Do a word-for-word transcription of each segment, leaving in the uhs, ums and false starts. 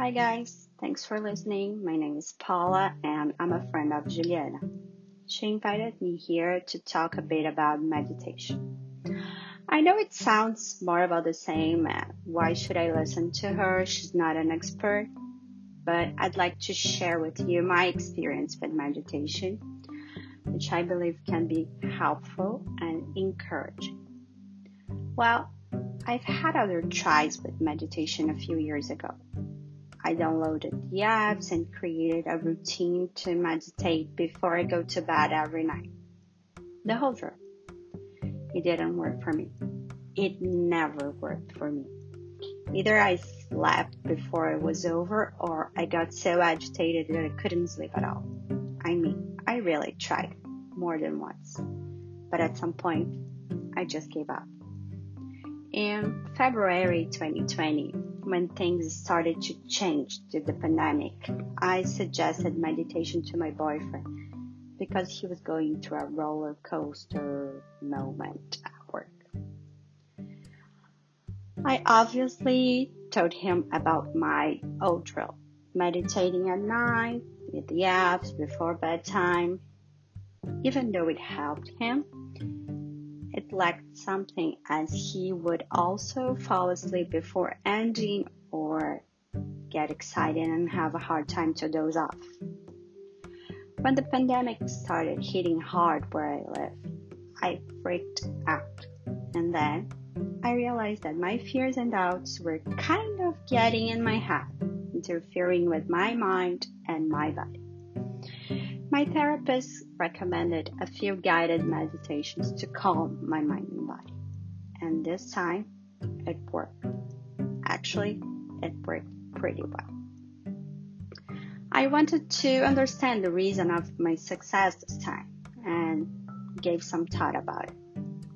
Hi guys, thanks for listening. My name is Paula and I'm a friend of Juliana. She invited me here to talk a bit about meditation. I know it sounds more about the same. uh, Why should I listen to her? She's not an expert. But I'd like to share with you my experience with meditation, which I believe can be helpful and encouraging. Well, I've had other tries with meditation a few years ago. I downloaded the apps and created a routine to meditate before I go to bed every night. The whole truth. It didn't work for me. It never worked for me. Either I slept before it was over or I got so agitated that I couldn't sleep at all. I mean, I really tried more than once. But at some point, I just gave up. In February twenty twenty, when things started to change due to the pandemic, I suggested meditation to my boyfriend because he was going through a roller coaster moment at work. I obviously told him about my old drill, meditating at night with the apps before bedtime. Even though it helped him, it lacked something as he would also fall asleep before ending or get excited and have a hard time to doze off. When the pandemic started hitting hard where I live, I freaked out. And then I realized that my fears and doubts were kind of getting in my head, interfering with my mind and my body. My therapist recommended a few guided meditations to calm my mind and body. And this time, it worked. Actually, it worked pretty well. I wanted to understand the reason of my success this time and gave some thought about it.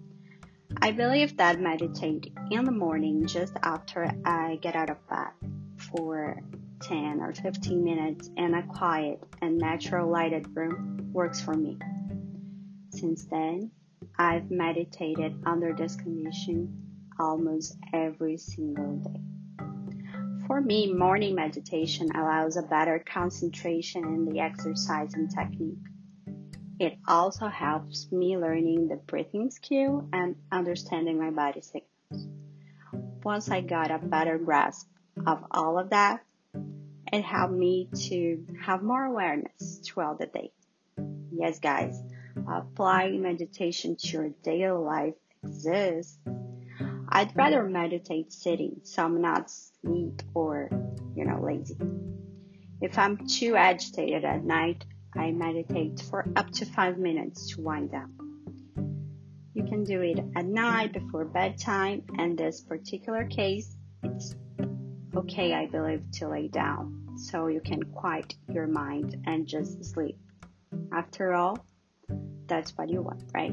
I believe that meditating in the morning just after I get out of bed for ten or fifteen minutes in a quiet and natural lighted room works for me. Since then, I've meditated under this condition almost every single day. For me, morning meditation allows a better concentration in the exercise and technique. It also helps me learning the breathing skill and understanding my body signals. Once I got a better grasp of all of that, it helped me to have more awareness throughout the day. Yes, guys, applying meditation to your daily life exists. I'd rather meditate sitting, so I'm not sleep or, you know, lazy. If I'm too agitated at night, I meditate for up to five minutes to wind down. You can do it at night before bedtime, and this particular case, it's okay, I believe, to lay down so you can quiet your mind and just sleep. After all, that's what you want, right?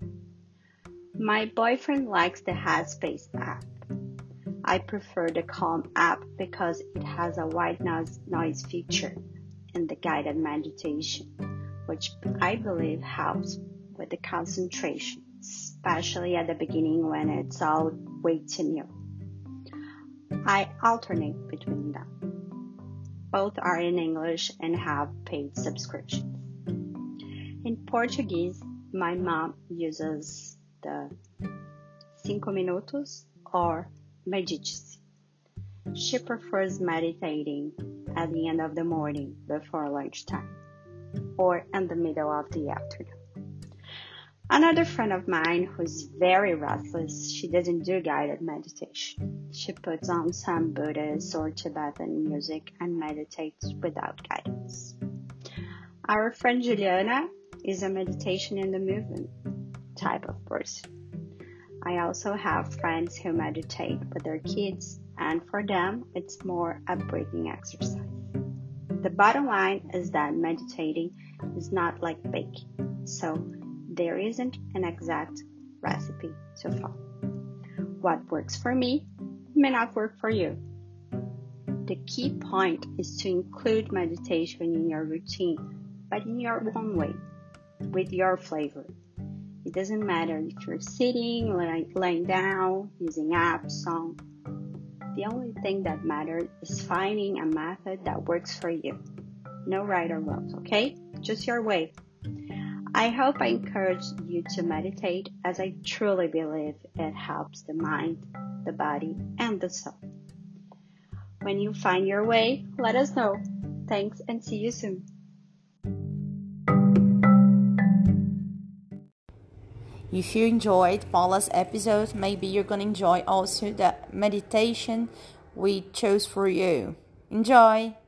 My boyfriend likes the Headspace app. I prefer the Calm app because it has a white noise, noise feature in the guided meditation, which I believe helps with the concentration, especially at the beginning when it's all way too new. I alternate between them. Both are in English and have paid subscriptions. In Portuguese, my mom uses the Cinco Minutos or Medite-se. She prefers meditating at the end of the morning before lunchtime or in the middle of the afternoon. Another friend of mine who's very restless, she doesn't do guided meditation. She puts on some Buddhist or Tibetan music and meditates without guidance. Our friend Juliana is a meditation in the movement type of person. I also have friends who meditate with their kids, and for them, it's more a breathing exercise. The bottom line is that meditating is not like baking, so there isn't an exact recipe to follow. What works for me may not work for you. The key point is to include meditation in your routine, but in your own way, with your flavor. It doesn't matter if you're sitting, laying down, using apps, song. The only thing that matters is finding a method that works for you. No right or wrong, okay? Just your way. I hope I encourage you to meditate, as I truly believe it helps the mind, the body, and the soul. When you find your way, let us know. Thanks and see you soon. If you enjoyed Paula's episode, maybe you're going to enjoy also the meditation we chose for you. Enjoy!